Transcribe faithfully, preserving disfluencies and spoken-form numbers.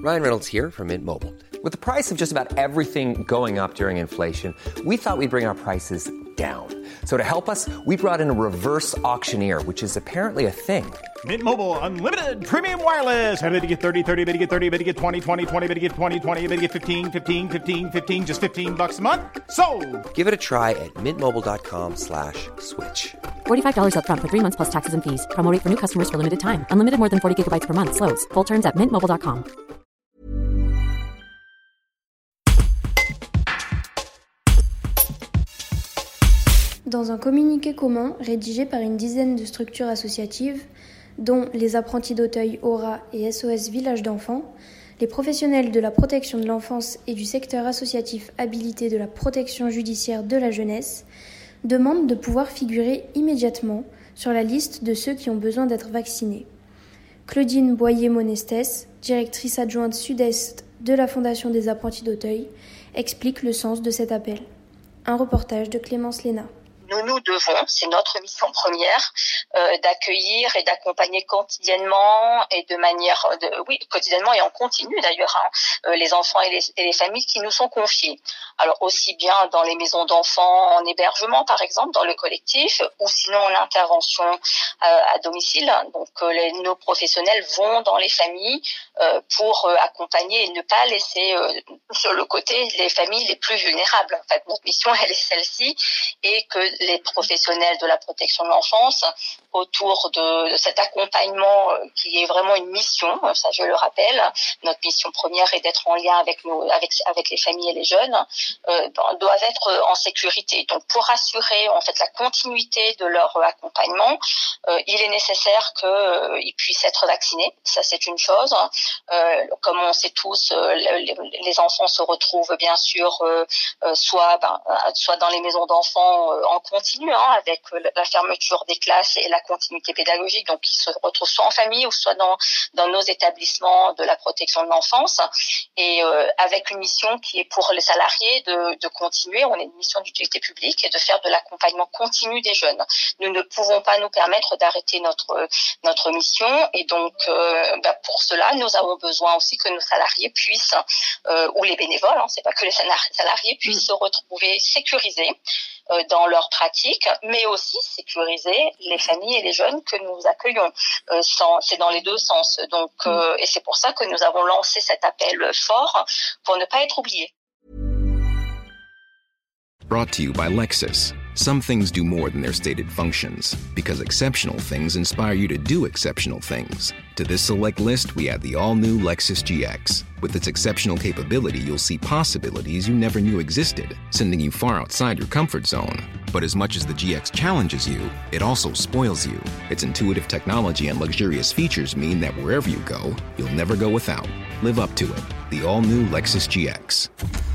Ryan Reynolds here from Mint Mobile. With the price of just about everything going up during inflation, we thought we'd bring our prices down. So to help us, we brought in a reverse auctioneer, which is apparently a thing. Mint Mobile Unlimited Premium Wireless. How to get thirty, thirty, how to get thirty, how to get twenty, twenty, twenty, how to get twenty, twenty, how to get fifteen, fifteen, fifteen, fifteen, just fifteen bucks a month? Sold! Give it a try at mintmobile.com slash switch. forty-five dollars up front for three months plus taxes and fees. Promo rate for new customers for limited time. Unlimited more than forty gigabytes per month. Slows full terms at mint mobile dot com. Dans un communiqué commun rédigé par une dizaine de structures associatives, dont les apprentis d'Auteuil, Aura et S O S Village d'enfants, les professionnels de la protection de l'enfance et du secteur associatif habilité de la protection judiciaire de la jeunesse demandent de pouvoir figurer immédiatement sur la liste de ceux qui ont besoin d'être vaccinés. Claudine Boyer-Monestès, directrice adjointe sud-est de la Fondation des apprentis d'Auteuil, explique le sens de cet appel. Un reportage de Clémence Léna. Nous nous devons, c'est notre mission première, euh, d'accueillir et d'accompagner quotidiennement et de manière, de, oui, quotidiennement et en continu d'ailleurs, hein, euh, les enfants et les, et les familles qui nous sont confiés. Alors aussi bien dans les maisons d'enfants en hébergement par exemple, dans le collectif, ou sinon en intervention euh, à domicile. Donc euh, les, nos professionnels vont dans les familles euh, pour euh, accompagner et ne pas laisser euh, sur le côté les familles les plus vulnérables. En fait, notre mission elle est celle-ci, et que les professionnels de la protection de l'enfance autour de, de cet accompagnement euh, qui est vraiment une mission, ça je le rappelle. Notre mission première est d'être en lien avec nos, avec avec les familles et les jeunes, euh, doivent être en sécurité. Donc pour assurer en fait la continuité de leur accompagnement, euh, il est nécessaire qu'ils euh, puissent être vaccinés. Ça c'est une chose. Euh, comme on sait tous, euh, les, les enfants se retrouvent bien sûr euh, euh, soit ben, soit dans les maisons d'enfants euh, en continu, hein, avec la fermeture des classes et la continuité pédagogique, donc ils se retrouvent soit en famille ou soit dans dans nos établissements de la protection de l'enfance, et euh, avec une mission qui est pour les salariés de, de continuer. On est une mission d'utilité publique et de faire de l'accompagnement continu des jeunes. Nous ne pouvons pas nous permettre d'arrêter notre notre mission, et donc euh, bah pour cela nous avons besoin aussi que nos salariés puissent euh, ou les bénévoles, hein, c'est pas que les salariés puissent se retrouver sécurisés euh, dans leur pratique, mais aussi sécuriser les familles et les jeunes que nous accueillons. Euh, sans, c'est dans les deux sens. Donc, euh, et c'est pour ça que nous avons lancé cet appel fort pour ne pas être oubliés. Brought to you by Lexus. Some things do more than their stated functions, because exceptional things inspire you to do exceptional things. To this select list, we add the all-new Lexus G X. With its exceptional capability, you'll see possibilities you never knew existed, sending you far outside your comfort zone. But as much as the G X challenges you, it also spoils you. Its intuitive technology and luxurious features mean that wherever you go, you'll never go without. Live up to it. The all-new Lexus G X.